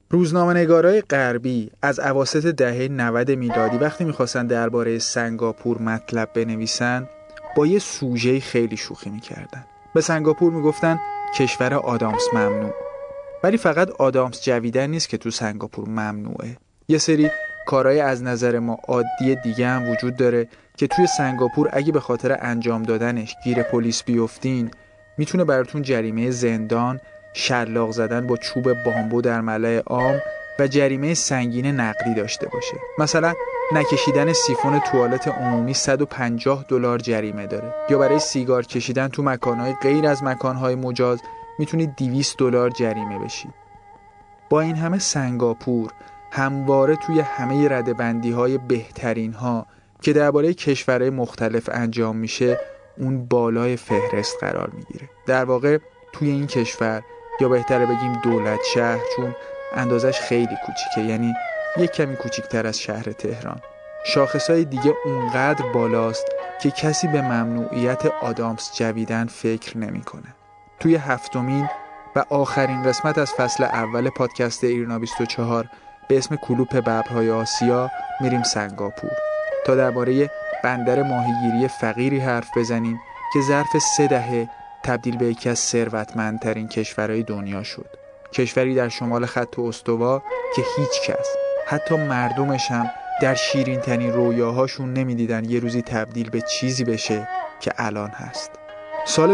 روزنامه‌نگارای غربی از اواسط دهه 90 میلادی وقتی می‌خواستن درباره سنگاپور مطلب بنویسن با یه سوژه خیلی شوخی می‌کردن. به سنگاپور میگفتن کشور آدامس ممنوع. ولی فقط آدامس جویدن نیست که تو سنگاپور ممنوعه. یه سری کارهای از نظر ما عادی دیگه هم وجود داره که توی سنگاپور اگه به خاطر انجام دادنش گیر پلیس بیفتین میتونه براتون جریمه زندان، شلاق زدن با چوب بامبو در ملأ عام و جریمه سنگین نقدی داشته باشه. مثلا نکشیدن سیفون توالت عمومی $150 جریمه داره، یا برای سیگار کشیدن تو مکانهای غیر از مکانهای مجاز میتونید $200 جریمه بشید. با این همه سنگاپور همواره توی همه ردبندی‌های بهترین ها که درباره کشورهای مختلف انجام میشه اون بالای فهرست قرار میگیره. در واقع توی این کشور، یا بهتره بگیم دولت شهر، چون اندازش خیلی کوچیکه، یعنی یک کمی کوچیکتر از شهر تهران، شاخصهای دیگه اونقدر بالاست که کسی به ممنوعیت آدامس جویدن فکر نمیکنه. توی 7مین و آخرین قسمت از فصل اول پادکست ایرنا 24 به اسم کلوپ ببرهای آسیا میریم سنگاپور تا درباره بندر ماهیگیری فقیری حرف بزنیم که ظرف 3 دهه تبدیل به یکی از ثروتمندترین کشورهای دنیا شد. کشوری در شمال خط استوا که هیچ کس، حتی مردمش هم، در شیرین ترین رویاهاشون نمیدیدن یه روزی تبدیل به چیزی بشه که الان هست. سال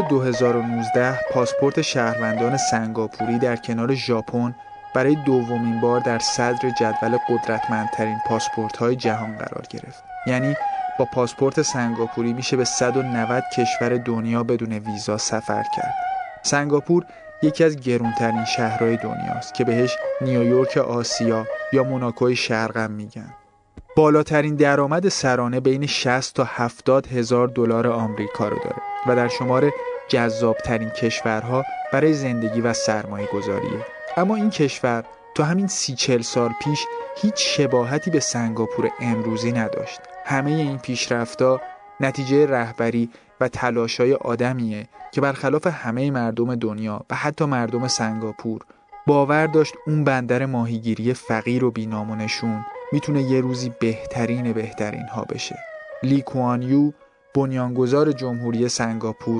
2019 پاسپورت شهروندان سنگاپوری در کنار ژاپن برای دومین بار در صدر جدول قدرتمندترین پاسپورت‌های جهان قرار گرفت. یعنی با پاسپورت سنگاپوری میشه به 190 کشور دنیا بدون ویزا سفر کرد. سنگاپور یکی از گرانترین شهرهای دنیاست که بهش نیویورک آسیا یا موناکوی شرق هم میگن. بالاترین درآمد سرانه بین 60 تا 70 هزار دلار آمریکا رو داره و در شمار جذابترین کشورها برای زندگی و سرمایه گذاریه. اما این کشور تا همین 30-40 سال پیش هیچ شباهتی به سنگاپور امروزی نداشت. همه این پیشرفت‌ها نتیجه رهبری و تلاش‌های آدمیه که برخلاف همه مردم دنیا و حتی مردم سنگاپور باور داشت اون بندر ماهیگیری فقیر و بی‌نام و نشون میتونه یه روزی بهترین ها بشه. لی کوان یو، بنیانگذار جمهوری سنگاپور،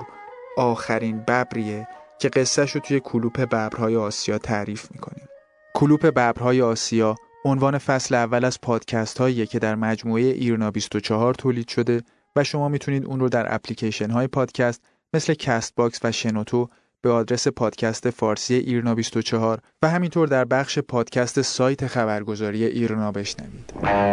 آخرین ببریه که قصه‌شو توی کلوپ ببرهای آسیا تعریف میکنیم. کلوپ ببرهای آسیا عنوان فصل اول از پادکست هاییه که در مجموعه ایرنا 24 تولید شده و شما میتونید اون رو در اپلیکیشن های پادکست مثل کست باکس و شنوتو به آدرس پادکست فارسی ایرنا 24 و همینطور در بخش پادکست سایت خبرگزاری ایرنا بشنوید.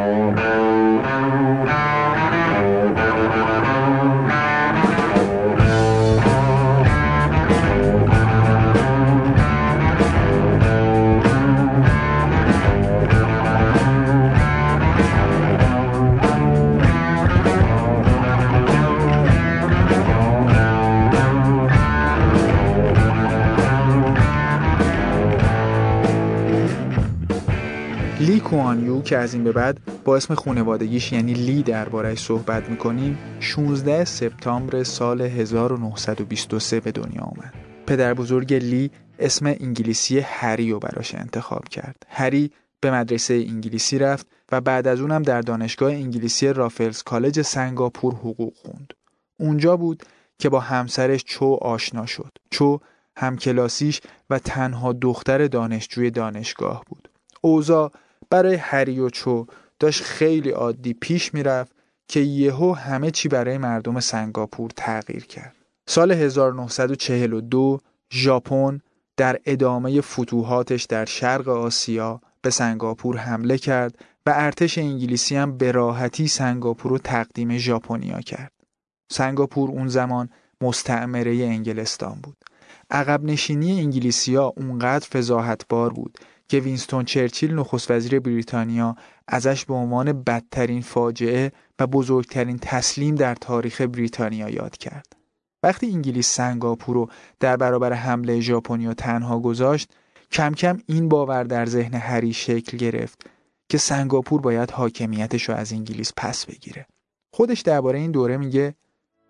لی کوان یو که از این به بعد با اسم خانوادگیش یعنی لی درباره‌اش صحبت می‌کنیم 16 سپتامبر سال 1923 به دنیا آمد. پدر بزرگ لی اسم انگلیسی هری رو براش انتخاب کرد. هری به مدرسه انگلیسی رفت و بعد از اونم در دانشگاه انگلیسی رافلز کالج سنگاپور حقوق خوند. اونجا بود که با همسرش چو آشنا شد. چو همکلاسیش و تنها دختر دانشجوی دانشگاه بود. اوضاع برای هری و چو داشت خیلی عادی پیش میرفت که یهو همه چی برای مردم سنگاپور تغییر کرد. سال 1942 ژاپن در ادامه فتوحاتش در شرق آسیا به سنگاپور حمله کرد و ارتش انگلیسی هم به راحتی سنگاپور رو تقدیم ژاپنیا کرد. سنگاپور اون زمان مستعمره انگلستان بود. عقب نشینی انگلیسی‌ها اونقدر فضاحتبار بود که وینستون چرچیل نخست وزیر بریتانیا ازش به عنوان بدترین فاجعه و بزرگترین تسلیم در تاریخ بریتانیا یاد کرد. وقتی انگلیس سنگاپور رو در برابر حمله ژاپنیا تنها گذاشت، کم کم این باور در ذهن هری شکل گرفت که سنگاپور باید حاکمیتش رو از انگلیس پس بگیره. خودش درباره این دوره میگه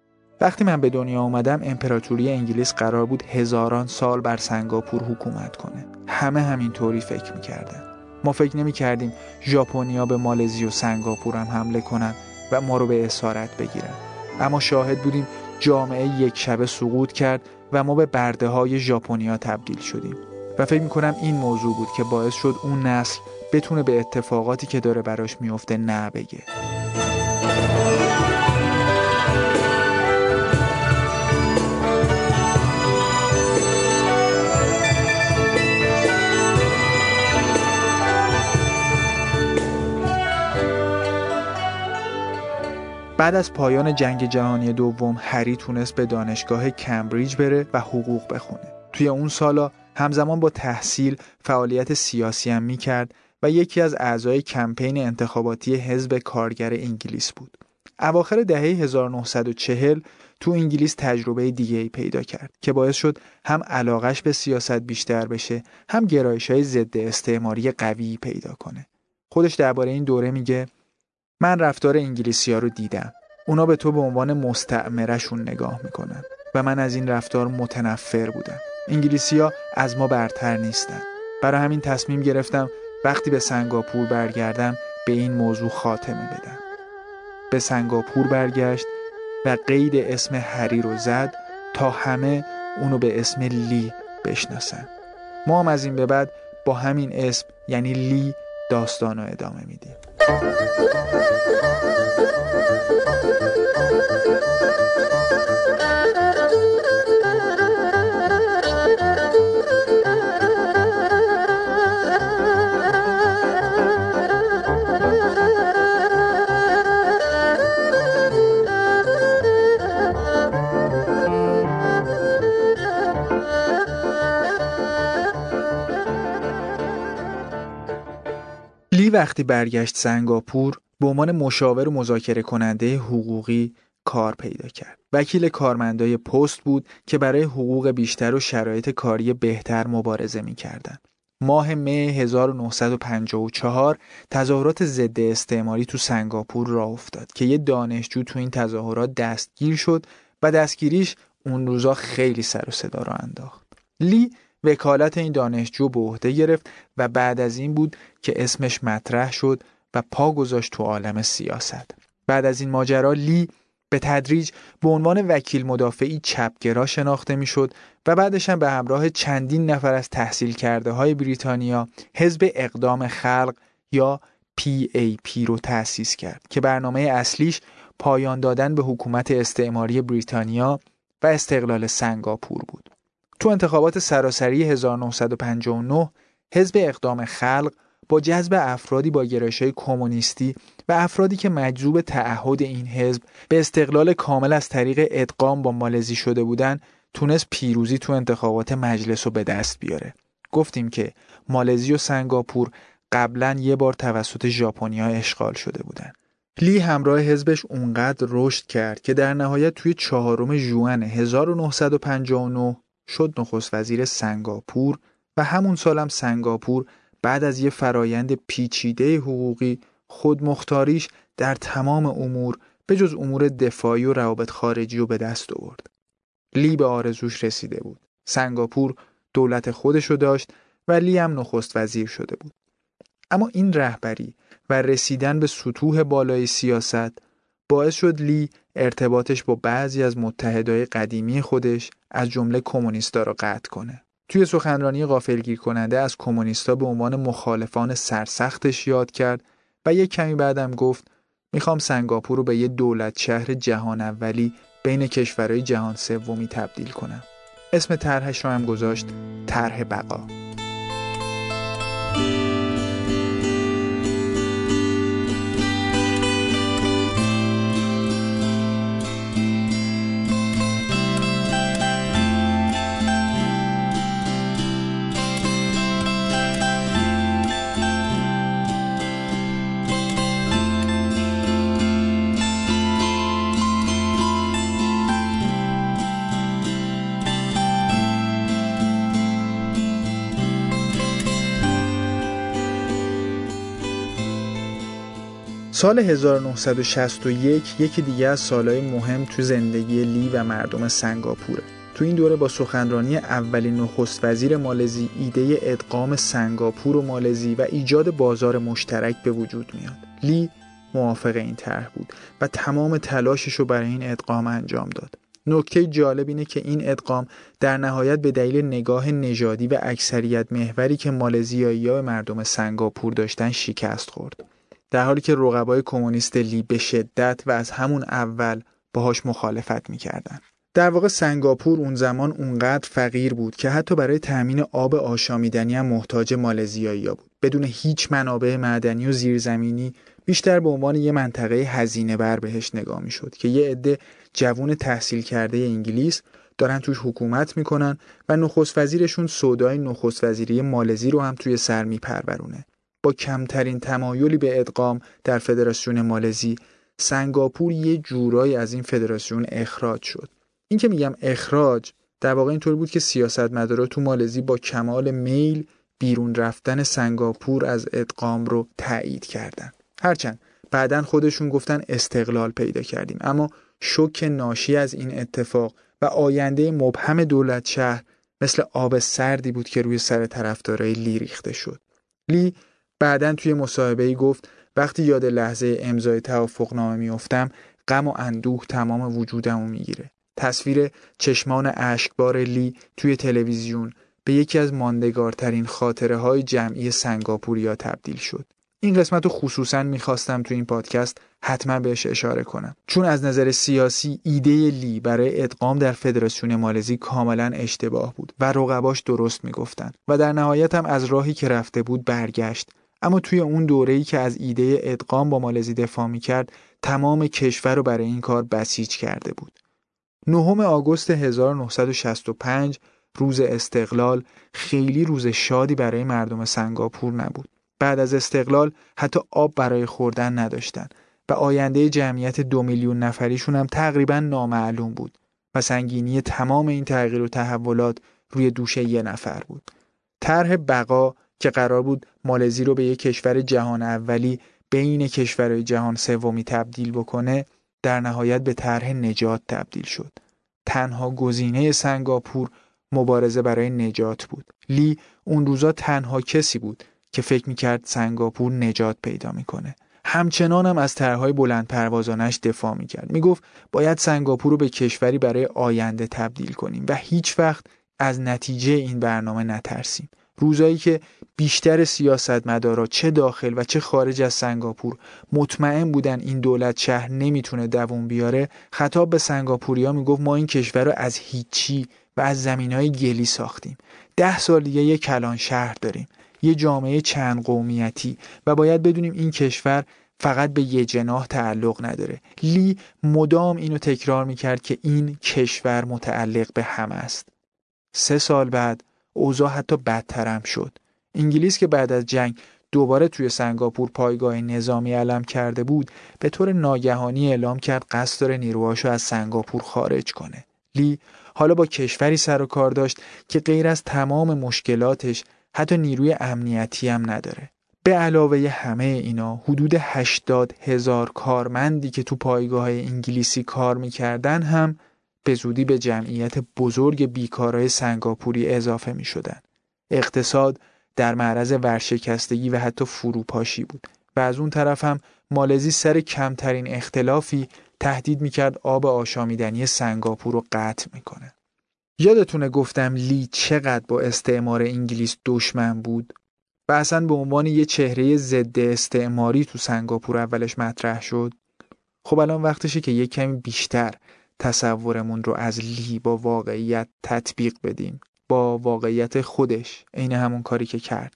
وقتی من به دنیا اومدم امپراتوری انگلیس قرار بود هزاران سال بر سنگاپور حکومت کنه. همه همینطوری فکر میکردن. ما فکر نمیکردیم ژاپنیا به مالزی و سنگاپور هم حمله کنن و ما رو به اسارت بگیرن. اما شاهد بودیم جامعه یک شبه سقوط کرد و ما به برده های ژاپنیا تبدیل شدیم. و فکر میکنم این موضوع بود که باعث شد اون نسل بتونه به اتفاقاتی که داره براش میفته نه بگه. بعد از پایان جنگ جهانی دوم هری تونست به دانشگاه کمبریج بره و حقوق بخونه. توی اون سالا همزمان با تحصیل فعالیت سیاسی هم میکرد و یکی از اعضای کمپین انتخاباتی حزب کارگر انگلیس بود. اواخر دهه 1940 تو انگلیس تجربه دیگه‌ای پیدا کرد که باعث شد هم علاقش به سیاست بیشتر بشه، هم گرایش‌های ضد استعماری قوی پیدا کنه. خودش درباره این دوره میگه من رفتار انگلیسی‌ها رو دیدم. اونا به تو به عنوان مستعمره‌شون نگاه میکنن و من از این رفتار متنفر بودم. انگلیسی‌ها از ما برتر نیستن. برای همین تصمیم گرفتم وقتی به سنگاپور برگردم به این موضوع خاتمه بدم. به سنگاپور برگشت و قید اسم هری رو زد تا همه اونو به اسم لی بشناسن. ما هم از این به بعد با همین اسم یعنی لی داستان رو ادامه میدیم. لی وقتی برگشت سنگاپور به عنوان مشاور و مذاکره کننده حقوقی کار پیدا کرد. وکیل کارمندای پست بود که برای حقوق بیشتر و شرایط کاری بهتر مبارزه می‌کردند. ماه می 1954 تظاهرات ضد استعماری تو سنگاپور راه افتاد که یه دانشجو تو این تظاهرات دستگیر شد و دستگیریش اون روزا خیلی سر و صدا را انداخت. لی وکالت این دانشجو به عهده گرفت و بعد از این بود که اسمش مطرح شد و پا گذاشت تو عالم سیاست. بعد از این ماجرا لی به تدریج به عنوان وکیل مدافعی چپگرا شناخته میشد و بعدش هم به همراه چندین نفر از تحصیل کرده های بریتانیا حزب اقدام خلق یا PAP رو تأسیس کرد که برنامه اصلیش پایان دادن به حکومت استعماری بریتانیا و استقلال سنگاپور بود. تو انتخابات سراسری 1959 حزب اقدام خلق با جذب افرادی با گرایش‌های کمونیستی و افرادی که مجذوب تعهد این حزب به استقلال کامل از طریق ادغام با مالزی شده بودن تونست پیروزی تو انتخابات مجلس رو به دست بیاره. گفتیم که مالزی و سنگاپور قبلا یه بار توسط ژاپنیا اشغال شده بودن. لی همراه حزبش اونقدر رشد کرد که در نهایت توی 4 ژوئن 1959 شد نخست وزیر سنگاپور و همون سالم سنگاپور بعد از یه فرایند پیچیده حقوقی خودمختاریش در تمام امور به جز امور دفاعی و روابط خارجی رو به دست آورد. لی به آرزوش رسیده بود. سنگاپور دولت خودشو داشت و لی هم نخست وزیر شده بود. اما این رهبری و رسیدن به سطوح بالای سیاست باعث شد لی ارتباطش با بعضی از متحدای قدیمی خودش از جمله کمونیستا را قطع کنه. توی سخنرانی غافلگیر کننده از کمونیستا به عنوان مخالفان سرسختش یاد کرد و یک کمی بعدم گفت میخوام سنگاپور رو به یه دولت شهر جهان اولی بین کشورهای جهان سومی تبدیل کنم. اسم طرحش رو هم گذاشت طرح بقا. سال 1961 یکی دیگه از سالهای مهم تو زندگی لی و مردم سنگاپوره. تو این دوره با سخنرانی اولین نخست وزیر مالزی ایده ادغام سنگاپور و مالزی و ایجاد بازار مشترک به وجود میاد. لی موافق این طرح بود و تمام تلاشش رو برای این ادغام انجام داد. نکته جالب اینه که این ادغام در نهایت به دلیل نگاه نژادی و اکثریت محوری که مالزیایی‌ها به مردم سنگاپور داشتن شکست خورد. در حالی که رقبای کمونیست لی به شدت و از همون اول باهاش مخالفت می‌کردن. در واقع سنگاپور اون زمان اونقدر فقیر بود که حتی برای تامین آب آشامیدنی هم محتاج مالزیایی‌ها بود. بدون هیچ منابع معدنی و زیرزمینی، بیشتر به عنوان یه منطقه هزینه بر بهش نگاه می‌شد که یه عده جوون تحصیل کرده انگلیس دارن توش حکومت میکنن و نخست وزیرشون سودای نخست وزیری مالزی رو هم توی سر میپرورونه. با کمترین تمایلی به ادغام در فدراسیون مالزی، سنگاپور یه جورایی از این فدراسیون اخراج شد. این که میگم اخراج، در واقع اینطور بود که سیاستمدارا تو مالزی با کمال میل بیرون رفتن سنگاپور از ادغام رو تایید کردن. هرچند بعدن خودشون گفتن استقلال پیدا کردیم، اما شوک ناشی از این اتفاق و آینده مبهم دولت شهر مثل آب سردی بود که روی سر طرفدارای لی ریخته شد. لی بعدن توی مصاحبه‌ای گفت وقتی یاد لحظه امضای توافقنامه میافتم، غم و اندوه تمام وجودمو میگیره. تصویر چشمان اشکبار لی توی تلویزیون به یکی از ماندگارترین خاطره‌های جمعی سنگاپوریا تبدیل شد. این قسمت رو خصوصاً میخواستم تو این پادکست حتما بهش اشاره کنم، چون از نظر سیاسی ایده لی برای ادغام در فدراسیون مالزی کاملا اشتباه بود و رقباش درست میگفتن و در نهایت هم از راهی که رفته بود برگشت. اما توی اون دوره‌ای که از ایده ادغام با مالزی دفاع میکرد، تمام کشور رو برای این کار بسیج کرده بود. 9 آگوست 1965 روز استقلال خیلی روز شادی برای مردم سنگاپور نبود. بعد از استقلال حتی آب برای خوردن نداشتن و آینده جمعیت 2 میلیون نفریشون هم تقریبا نامعلوم بود و سنگینی تمام این تغییر و تحولات روی دوش یه نفر بود. طرح بقا که قرار بود مالزی رو به یک کشور جهان اولی بین کشورهای جهان سومی تبدیل بکنه، در نهایت به طرح نجات تبدیل شد. تنها گزینه سنگاپور مبارزه برای نجات بود. لی اون روزا تنها کسی بود که فکر میکرد سنگاپور نجات پیدا میکنه. همچنان هم از طرح‌های بلند پروازانش دفاع میکرد. میگفت باید سنگاپور رو به کشوری برای آینده تبدیل کنیم و هیچ وقت از نتیجه این برنامه نترسیم. روزایی که بیشتر سیاستمدارا چه داخل و چه خارج از سنگاپور مطمئن بودن این دولت شهر نمیتونه دووم بیاره، خطاب به سنگاپوریا میگفت ما این کشور رو از هیچی و از زمینهای گلی ساختیم. 10 سال دیگه یک کلان شهر داریم، یه جامعه چند قومیتی و باید بدونیم این کشور فقط به یه جناح تعلق نداره. لی مدام اینو تکرار میکرد که این کشور متعلق به همه است. 3 سال بعد اوضاع حتی بدتر هم شد. انگلیس که بعد از جنگ دوباره توی سنگاپور پایگاه نظامی علم کرده بود، به طور ناگهانی اعلام کرد قصد داره نیروهاشو از سنگاپور خارج کنه. لی حالا با کشوری سر و کار داشت که غیر از تمام مشکلاتش حتی نیروی امنیتی هم نداره. به علاوه همه اینا حدود 80,000 کارمندی که تو پایگاه انگلیسی کار میکردن هم به زودی به جمعیت بزرگ بیکارای سنگاپوری اضافه می شدن. اقتصاد در معرض ورشکستگی و حتی فروپاشی بود و از اون طرف هم مالزی سر کمترین اختلافی تهدید می کرد آب آشامیدنی سنگاپور رو قطع می کنه. یادتونه گفتم لی چقدر با استعمار انگلیس دشمن بود و اصلا به عنوان یه چهره ضد استعماری تو سنگاپور اولش مطرح شد؟ خب الان وقتشه که یه کمی بیشتر تصورمون رو از لی با واقعیت تطبیق بدیم، با واقعیت خودش، عین همون کاری که کرد.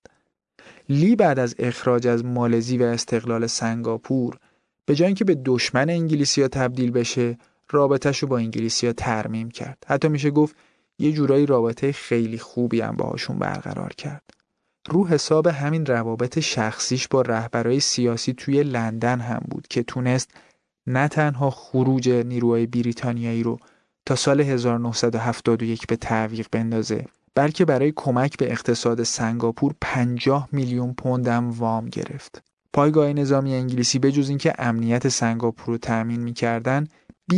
لی بعد از اخراج از مالزی و استقلال سنگاپور، به جای اینکه به دشمن انگلیسی‌ها تبدیل بشه، رابطه‌شو با انگلیسی‌ها ترمیم کرد. حتی میشه گفت یه جورایی رابطه خیلی خوبی هم باهاشون برقرار کرد. رو حساب همین روابط شخصیش با رهبرای سیاسی توی لندن هم بود که تونست نه تنها خروج نیروهای بریتانیایی رو تا سال 1971 به تعویق بندازه، بلکه برای کمک به اقتصاد سنگاپور 50 میلیون پوند هم وام گرفت. پایگاه نظامی انگلیسی به جز اینکه امنیت سنگاپور رو تأمین می‌کردن،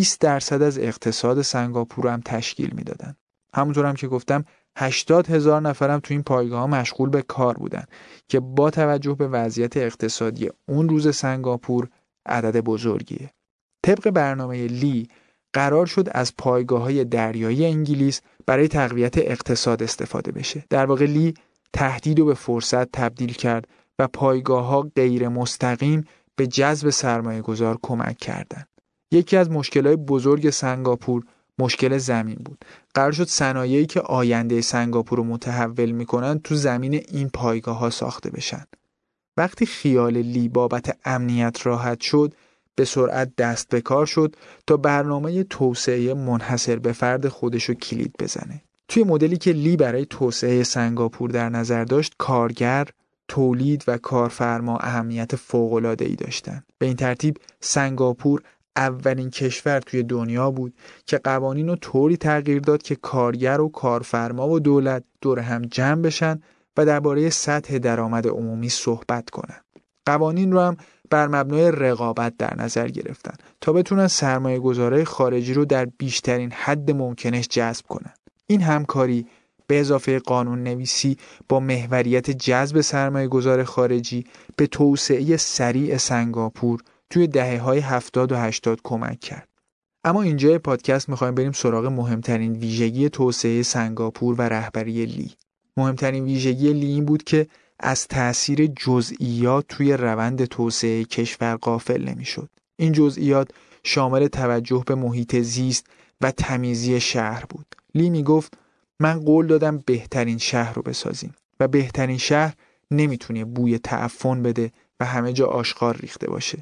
20% از اقتصاد سنگاپور رو هم تشکیل میدادن. همونطور هم که گفتم 80,000 نفرم تو این پایگاه ها مشغول به کار بودن که با توجه به وضعیت اقتصادی اون روز سنگاپور عدد بزرگیه. طبق برنامه لی قرار شد از پایگاه‌های دریایی انگلیس برای تقویت اقتصاد استفاده بشه. در واقع لی تهدید رو به فرصت تبدیل کرد و پایگاه‌ها غیر مستقیم به جذب سرمایه‌گذار کمک کردند. یکی از مشکلات بزرگ سنگاپور مشکل زمین بود. قرار شد صنایعی که آینده سنگاپور رو متحول می‌کنن تو زمین این پایگاه‌ها ساخته بشن. وقتی خیال لی بابت امنیت راحت شد، به سرعت دست به کار شد تا برنامه توسعه منحصر به فرد خودشو کلید بزنه. توی مدلی که لی برای توسعه سنگاپور در نظر داشت، کارگر، تولید و کارفرما اهمیت فوق‌العاده‌ای داشتند. به این ترتیب سنگاپور اولین کشور توی دنیا بود که قوانین رو طوری تغییر داد که کارگر و کارفرما و دولت دور هم جمع بشن و درباره سطح درآمد عمومی صحبت کنن. قوانین رو هم بر مبنای رقابت در نظر گرفتن تا بتونن سرمایه‌گذارای خارجی رو در بیشترین حد ممکنش جذب کنن. این همکاری به اضافه قانون نویسی با محوریت جذب سرمایه‌گذار خارجی به توسعه سریع سنگاپور توی دهه‌های 70 و 80 کمک کرد. اما اینجای پادکست می‌خوایم بریم سراغ مهمترین ویژگی توسعه سنگاپور و رهبری لی. مهمترین ویژگی لی این بود که از تأثیر جزئیات توی روند توسعه کشور غافل نمی‌شد. این جزئیات شامل توجه به محیط زیست و تمیزی شهر بود. لی میگفت من قول دادم بهترین شهر رو بسازیم و بهترین شهر نمیتونه بوی تعفن بده و همه جا آشغال ریخته باشه.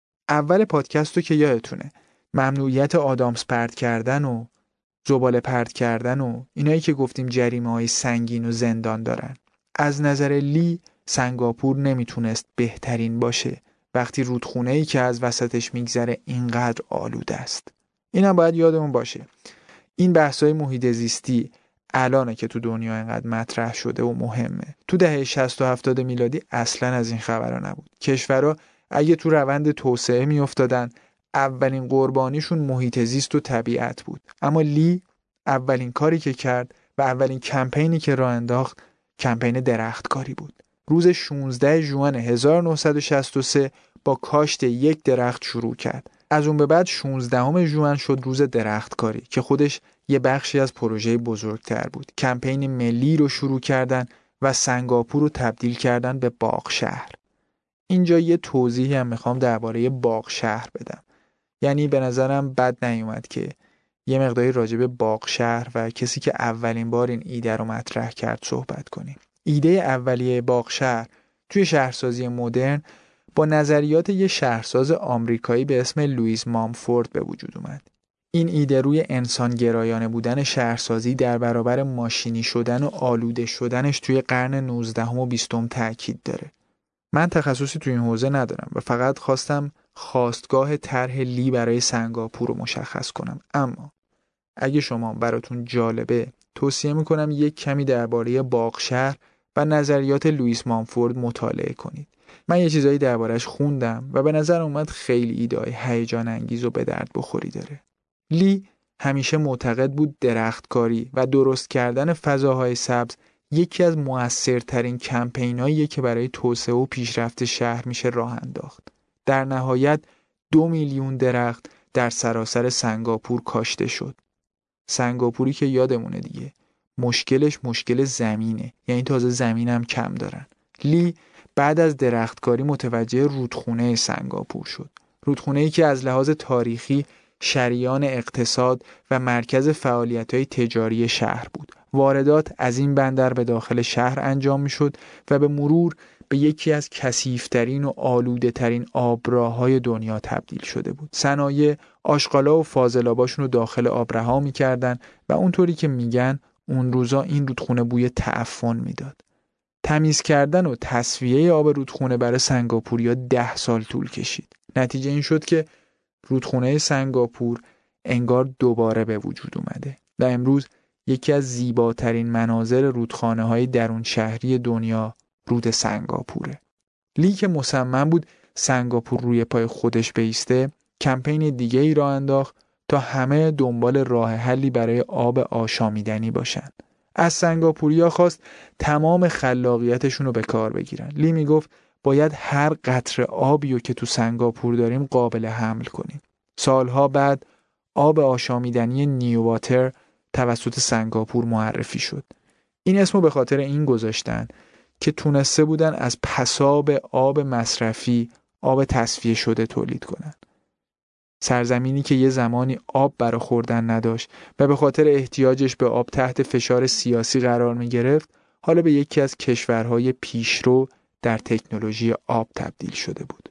اول پادکست رو که یادتونه، ممنوعیت آدامس پرت کردن و زباله پرت کردن و اینایی که گفتیم جریمه‌های سنگین و زندان دارن. از نظر لی سنگاپور نمیتونست بهترین باشه وقتی رودخونه‌ای که از وسطش میگذره اینقدر آلوده است. اینم باید یادمون باشه. این بحث‌های محیط زیستی الانه که تو دنیا اینقدر مطرح شده و مهمه. تو دهه 60 و 70 میلادی اصلاً از این خبرا نبود. کشورها اگه تو روند توسعه میافتادن، اولین قربانیشون محیط زیست و طبیعت بود. اما لی اولین کاری که کرد و اولین کمپینی که راه انداخت کمپین درختکاری بود. روز 16 ژوئن 1963 با کاشت یک درخت شروع کرد. از اون به بعد 16 ژوئن شد روز درختکاری که خودش یه بخشی از پروژه بزرگتر بود. کمپین ملی رو شروع کردن و سنگاپور رو تبدیل کردن به باغ شهر. اینجا یه توضیحی هم میخوام درباره باغ شهر بدم. یعنی به نظرم بد نیومد که یه مقداری راجع به باغ شهر و کسی که اولین بار این ایده رو مطرح کرد صحبت کنیم. ایده اولیه باغ شهر توی شهرسازی مدرن با نظریات یه شهرساز آمریکایی به اسم لوئیس مامفورد به وجود اومد. این ایده روی انسانگرایانه بودن شهرسازی در برابر ماشینی شدن و آلوده شدنش توی قرن 19 و 20 تاکید داره. من تخصصی توی این حوزه ندارم و فقط خواستم خواستگاه طرح لی برای سنگاپور رو مشخص کنم. اما اگه شما براتون جالبه توصیه میکنم یک کمی درباره باغ شهر و نظریات لوئیس مامفورد مطالعه کنید. من یه چیزایی دربارش خوندم و به نظر اومد خیلی ایده‌های هیجان انگیز و به درد بخوری داره. لی همیشه معتقد بود درختکاری و درست کردن فضاهای سبز یکی از مؤثرترین کمپیناییه که برای توسعه و پیشرفت شهر میشه راه انداخت. در نهایت 2 میلیون درخت در سراسر سنگاپور کاشته شد. سنگاپوری که یادمونه دیگه مشکلش مشکل زمینه، یعنی تازه زمینم کم دارن. لی بعد از درختکاری متوجه رودخونه سنگاپور شد. رودخونه‌ای که از لحاظ تاریخی شریان اقتصاد و مرکز فعالیت‌های تجاری شهر بود. واردات از این بندر به داخل شهر انجام می‌شد و به مرور به یکی از کثیف‌ترین و آلوده‌ترین آبراه‌های دنیا تبدیل شده بود. صنایع آشغالا و فاضلاباشون رو داخل آب رها می‌کردن و اونطوری که میگن اون روزا این رودخونه بوی تعفن میداد. تمیز کردن و تصفیه آب رودخونه برای سنگاپوریا 10 سال طول کشید. نتیجه این شد که رودخونه سنگاپور انگار دوباره به وجود اومده و امروز یکی از زیباترین مناظر رودخانه‌های درون شهری دنیا رود سنگاپوره. لی که مصمم بود سنگاپور روی پای خودش بایسته، کمپین دیگه ای راه انداخت تا همه دنبال راه حلی برای آب آشامیدنی باشن. از سنگاپوریا خواست تمام خلاقیتشون رو به کار بگیرن. لی میگفت باید هر قطره آبی رو که تو سنگاپور داریم قابل حمل کنیم. سالها بعد آب آشامیدنی نیوواتر توسط سنگاپور معرفی شد. این اسمو به خاطر این گذاشتن که تونسته بودن از پساب آب مصرفی آب تصفیه شده تولید کنن. سرزمینی که یه زمانی آب برای خوردن نداشت و به خاطر احتیاجش به آب تحت فشار سیاسی قرار می گرفت، حالا به یکی از کشورهای پیشرو در تکنولوژی آب تبدیل شده بود.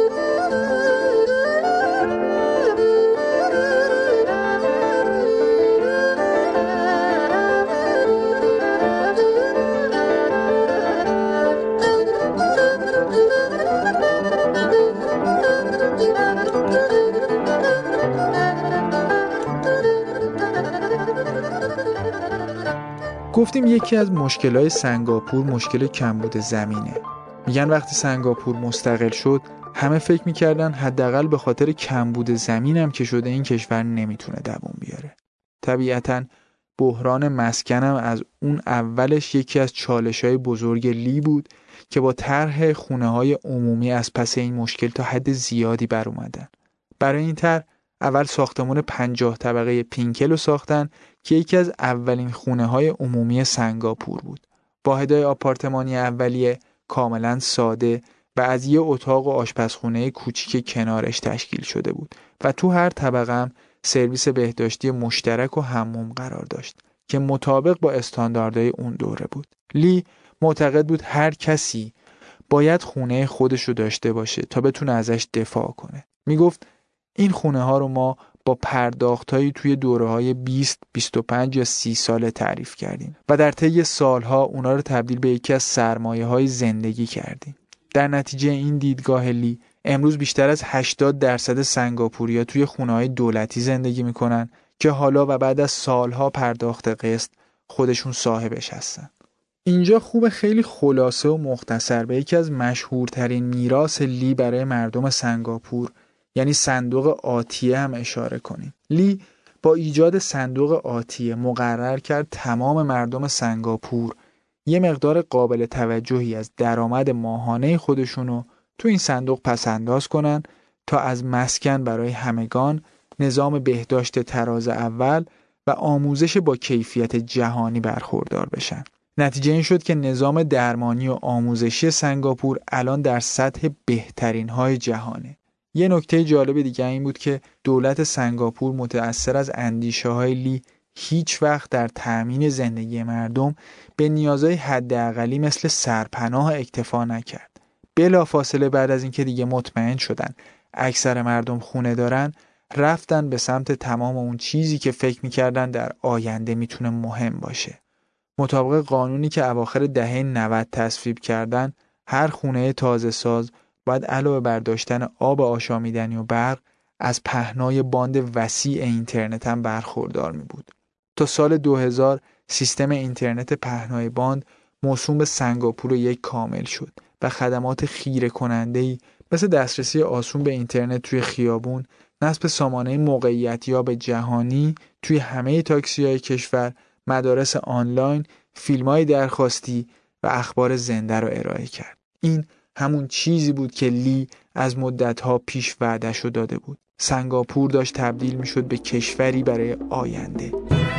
گفتیم یکی از مشکلات سنگاپور مشکل کمبود زمینه. میگن وقتی سنگاپور مستقل شد همه فکر میکردن حداقل به خاطر کمبود زمین هم که شده این کشور نمیتونه دووم بیاره. طبیعتاً بحران مسکن هم از اون اولش یکی از چالش‌های بزرگ لی بود که با طرح خونه‌های عمومی از پس این مشکل تا حد زیادی بر اومدن. برای این طرح اول ساختمان 50 طبقه پینکل رو ساختن که یکی از اولین خونه‌های عمومی سنگاپور بود. واحدهای آپارتمانی اولیه کاملا ساده و از یه اتاق و آشپزخونه کوچیک کنارش تشکیل شده بود و تو هر طبقه هم سرویس بهداشتی مشترک و حموم قرار داشت که مطابق با استانداردهای اون دوره بود. لی معتقد بود هر کسی باید خونه خودش رو داشته باشه تا بتونه ازش دفاع کنه. میگفت این خونه ها رو ما با پرداختایی توی دوره‌های 20، 25 یا 30 ساله تعریف کردیم و در طی سالها اونا رو تبدیل به یکی از سرمایه‌های زندگی کردیم. در نتیجه این دیدگاه لی امروز بیشتر از 80% سنگاپوریا توی خونه‌های دولتی زندگی میکنن که حالا و بعد از سالها پرداخت قسط خودشون صاحبش هستن. اینجا خوب خیلی خلاصه و مختصر به یکی از مشهورترین میراث لی برای مردم سنگاپور یعنی صندوق آتیه هم اشاره کنیم. لی با ایجاد صندوق آتیه مقرر کرد تمام مردم سنگاپور یه مقدار قابل توجهی از درآمد ماهانه خودشونو تو این صندوق پس‌انداز کنن تا از مسکن برای همگان، نظام بهداشت تراز اول و آموزش با کیفیت جهانی برخوردار بشن. نتیجه این شد که نظام درمانی و آموزشی سنگاپور الان در سطح بهترین های جهانه. یه نکته جالب دیگه این بود که دولت سنگاپور متأثر از اندیشه های لی هیچ وقت در تأمین زندگی مردم به نیازهای حداقلی مثل سرپناه اکتفا نکرد. بلافاصله بعد از اینکه دیگه مطمئن شدن اکثر مردم خونه دارن، رفتن به سمت تمام اون چیزی که فکر میکردن در آینده میتونه مهم باشه. مطابق قانونی که اواخر دهه 90 تصویب کردن، هر خونه تازه ساز باید علاوه بر داشتن آب آشامیدنی و برق از پهنای باند وسیع اینترنت هم برخوردار می بود. تا سال 2000 سیستم اینترنت پهنای باند موسوم به سنگاپور یک کامل شد و خدمات خیره کننده‌ای مثل دسترسی آسون به اینترنت توی خیابون، نصب سامانه موقعیتیاب جهانی توی همه تاکسی‌های کشور، مدارس آنلاین، فیلم‌های درخواستی و اخبار زنده رو ارائه کرد. این همون چیزی بود که لی از مدت‌ها پیش وعده‌شو داده بود. سنگاپور داشت تبدیل می‌شد به کشوری برای آینده.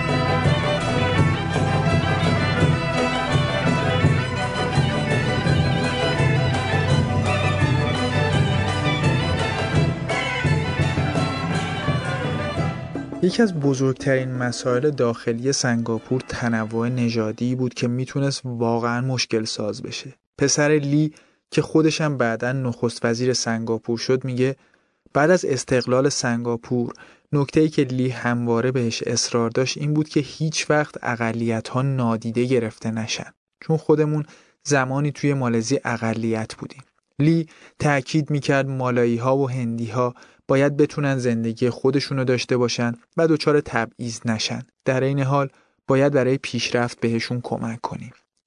یکی از بزرگترین مسائل داخلی سنگاپور تنوع نژادی بود که میتونست واقعا مشکل ساز بشه. پسر لی که خودش هم بعداً نخست وزیر سنگاپور شد میگه بعد از استقلال سنگاپور نکته‌ای که لی همواره بهش اصرار داشت این بود که هیچ وقت اقلیت‌ها نادیده گرفته نشن، چون خودمون زمانی توی مالزی اقلیت بودیم. لی تأکید میکرد مالایی‌ها و هندی‌ها باید بتونن زندگی خودشونو داشته باشن و دچار تبعیض نشن. در این حال باید برای پیشرفت بهشون کمک کنیم.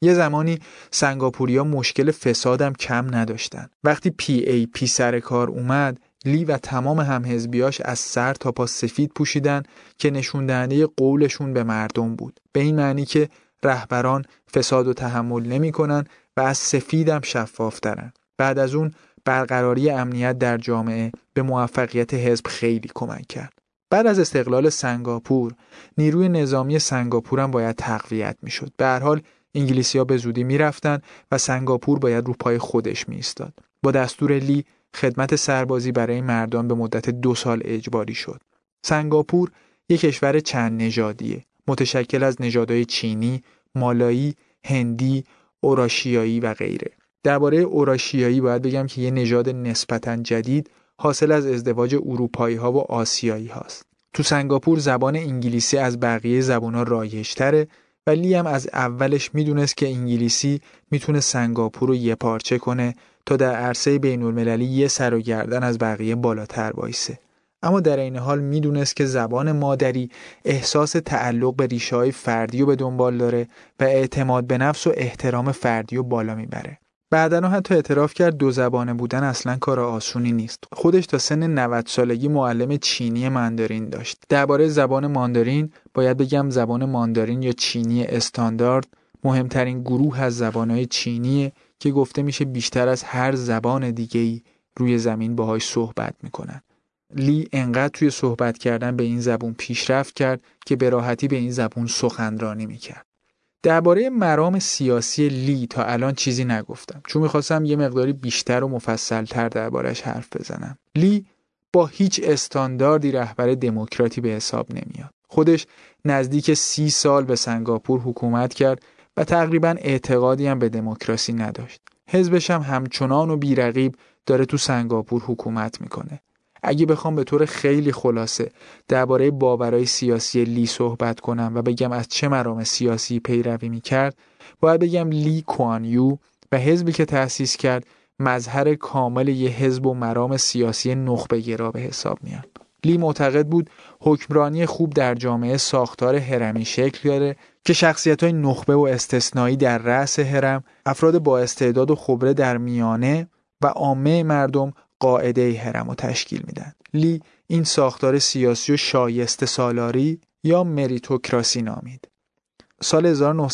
یه زمانی سنگاپوریا مشکل فسادم کم نداشتن. وقتی PAP سر کار اومد، لی و تمام همحزبیاش از سر تا پا سفید پوشیدن که نشون دهنده قولشون به مردم بود. به این معنی که رهبران فساد و تحمل نمی‌کنن و از سفیدم شفافترن. بعد از اون برقراری امنیت در جامعه به موفقیت حزب خیلی کمک کرد. بعد از استقلال سنگاپور، نیروی نظامی سنگاپور هم باید تقویت میشد. به هر حال انگلیسی‌ها به زودی میرفتن و سنگاپور باید رو پای خودش میایستاد. با دستور لی خدمت سربازی برای مردان به مدت 2 سال اجباری شد. سنگاپور یک کشور چند نژادیه، متشکل از نژادهای چینی، مالایی، هندی، اوراشیایی و غیره. درباره اوراشیایی باید بگم که یه نژاد نسبتاً جدید حاصل از ازدواج اروپایی‌ها و آسیایی هاست. تو سنگاپور زبان انگلیسی از بقیه زبان‌ها رایج‌تره و لی هم از اولش میدونست که انگلیسی میتونه سنگاپور رو یه پارچه کنه تا در عرصه بین‌المللی یه سر و گردن از بقیه بالاتر وایسه. اما در این حال میدونست که زبان مادری احساس تعلق به ریشه‌های فردی رو به دنبال داره و اعتماد به نفس و احترام فردی رو بالا میبره. بعداً حتی اعتراف کرد 2 زبانه بودن اصلاً کار آسونی نیست. خودش تا سن 90 سالگی معلم چینی ماندارین داشت. درباره زبان ماندارین باید بگم زبان ماندارین یا چینی استاندارد مهمترین گروه از زبانهای چینیه که گفته میشه بیشتر از هر زبان دیگه‌ای روی زمین باهاش صحبت میکنن. لی انقدر توی صحبت کردن به این زبون پیشرفت کرد که به راحتی به این زبون سخنرانی میکرد. درباره مرام سیاسی لی تا الان چیزی نگفتم چون میخواستم یه مقداری بیشتر و مفصل‌تر دربارش حرف بزنم. لی با هیچ استانداردی رهبر دموکراتی به حساب نمیاد. خودش نزدیک 30 سال به سنگاپور حکومت کرد و تقریباً اعتقادی هم به دموکراسی نداشت. حزبش هم همچنان و بی‌رقیب داره تو سنگاپور حکومت میکنه. اگه بخوام به طور خیلی خلاصه درباره باورهای سیاسی لی صحبت کنم و بگم از چه مرام سیاسی پیروی میکرد، باید بگم لی کوان یو و حزبی که تأسیس کرد مظهر کامل یه حزب و مرام سیاسی نخبه‌گرا به حساب میاد. لی معتقد بود حکمرانی خوب در جامعه ساختار هرمی شکل داره که شخصیت‌های نخبه و استثنایی در رأس هرم، افراد با استعداد و خبره در میانه و عامه مردم قاعده هرم رو تشکیل میدن. لی این ساختار سیاسی و شایسته سالاری یا مریتوکراسی نامید. سال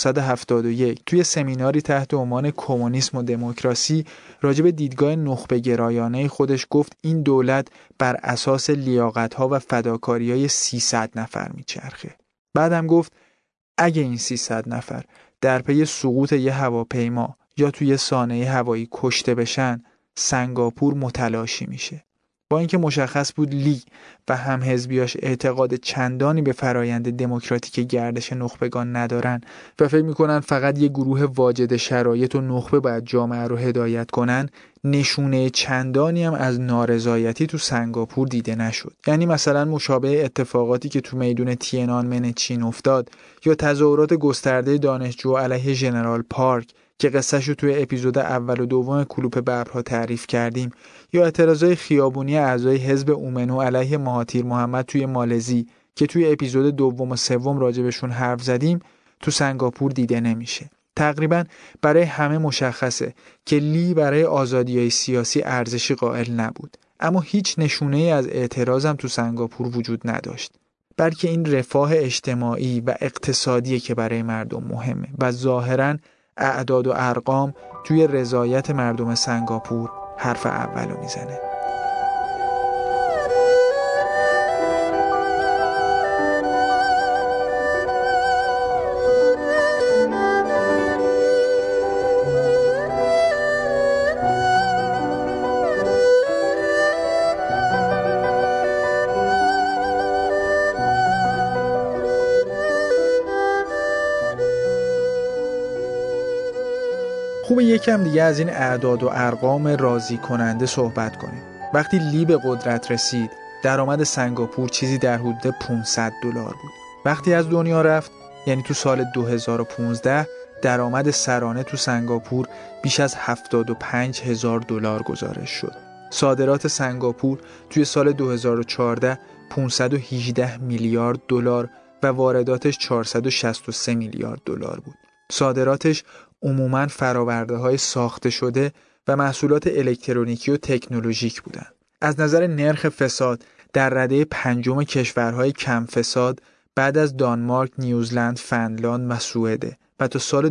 1971 توی سمیناری تحت عنوان کمونیسم و دموکراسی راجع به دیدگاه نخبه گرایانه خودش گفت این دولت بر اساس لیاقت‌ها و فداکاری‌های 300 نفر میچرخه. بعدم گفت اگه این 300 نفر در پی سقوط یه هواپیما یا توی سانحه هوایی کشته بشن، سنگاپور متلاشی میشه. با اینکه مشخص بود لی و هم حزبیاش اعتقاد چندانی به فرایند دموکراتیک گردش نخبگان ندارن و فکر میکنن فقط یه گروه واجد شرایط و نخبه باید جامعه رو هدایت کنن، نشونه چندانی هم از نارضایتی تو سنگاپور دیده نشد. یعنی مثلا مشابه اتفاقاتی که تو میدون تینانمن چین افتاد یا تظاهرات گسترده دانشجو علیه ژنرال پارک که قصهشو توی اپیزود اول و دوم کلوپ ببرها تعریف کردیم، یا اعتراضای خیابونی اعضای حزب اومنو علیه مهاتیر محمد توی مالزی که توی اپیزود دوم و سوم راجبشون حرف زدیم، تو سنگاپور دیده نمیشه. تقریبا برای همه مشخصه که لی برای آزادی‌های سیاسی ارزشی قائل نبود، اما هیچ نشونه‌ای از اعتراضم تو سنگاپور وجود نداشت. بلکه این رفاه اجتماعی و اقتصادی که برای مردم مهمه و ظاهراً اعداد و ارقام توی رضایت مردم سنگاپور حرف اولو میزنه. خوبه یکم دیگه از این اعداد و ارقام راضی کننده صحبت کنیم. وقتی لی به قدرت رسید، درآمد سنگاپور چیزی در حدود $500 بود. وقتی از دنیا رفت، یعنی تو سال 2015، درآمد سرانه تو سنگاپور بیش از $75,000 گزارش شد. صادرات سنگاپور توی سال 2014 $518 میلیارد و وارداتش $463 میلیارد بود. صادراتش عموماً فرآورده‌های ساخته شده و محصولات الکترونیکی و تکنولوژیک بودند. از نظر نرخ فساد در رده پنجم کشورهای کم فساد بعد از دانمارک، نیوزلند، فنلاند و سوئد و تا سال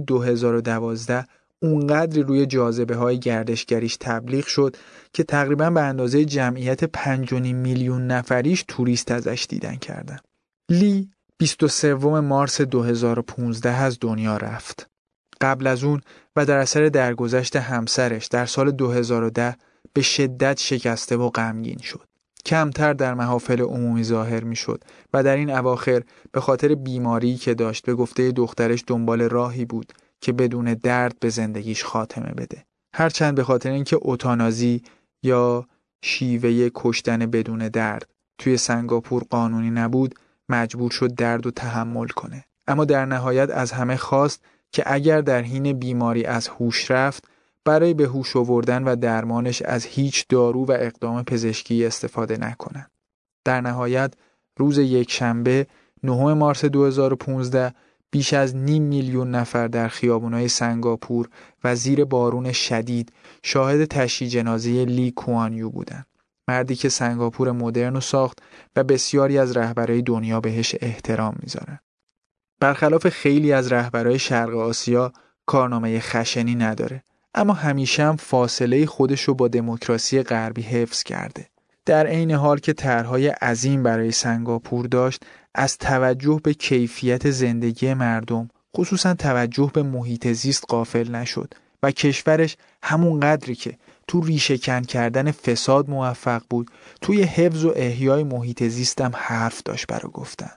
2012 اونقدری روی جاذبه‌های گردشگریش تبلیغ شد که تقریباً به اندازه جمعیت 5.5 میلیون نفریش توریست ازش دیدن کردن. لی 23 مارس 2015 از دنیا رفت. قبل از اون و در اثر درگذشت همسرش در سال 2010 به شدت شکسته و غمگین شد. کمتر در محافل عمومی ظاهر می شد و در این اواخر به خاطر بیماری که داشت به گفته دخترش دنبال راهی بود که بدون درد به زندگیش خاتمه بده. هرچند به خاطر اینکه اوتانازی یا شیوه کشتن بدون درد توی سنگاپور قانونی نبود، مجبور شد درد رو تحمل کنه. اما در نهایت از همه خواست که اگر در حین بیماری از هوش رفت، برای به هوش آوردن و درمانش از هیچ دارو و اقدام پزشکی استفاده نکنند. در نهایت روز یکشنبه 9 مارس 2015 بیش از 500,000 نفر در خیابان‌های سنگاپور و زیر بارون شدید شاهد تشییع جنازه لی کوان یو بودند. مردی که سنگاپور مدرن رو ساخت و بسیاری از رهبرای دنیا بهش احترام میذارن. برخلاف خیلی از رهبرای شرق آسیا کارنامه خشنی نداره، اما همیشه هم فاصله خودش رو با دموکراسی غربی حفظ کرده. در عین حال که طرح‌های عظیم برای سنگاپور داشت، از توجه به کیفیت زندگی مردم، خصوصا توجه به محیط زیست غافل نشد و کشورش همون قدری که تو ریشه کن کردن فساد موفق بود، توی حفظ و احیای محیط زیست هم حرف داشت برای گفتن.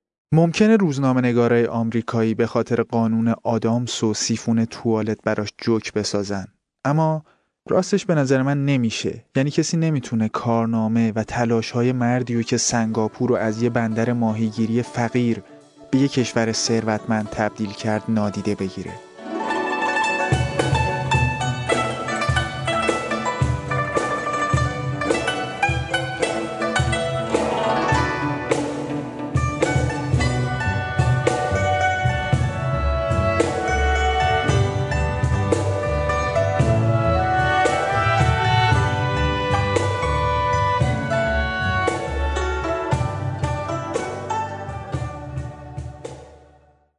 ممکنه روزنامه‌نگارای آمریکایی به خاطر قانون آدامس و سیفون توالت براش جوک بسازن، اما راستش به نظر من نمیشه. یعنی کسی نمیتونه کارنامه و تلاش‌های مردیو که سنگاپور رو از یه بندر ماهیگیری فقیر به یه کشور ثروتمند تبدیل کرد نادیده بگیره.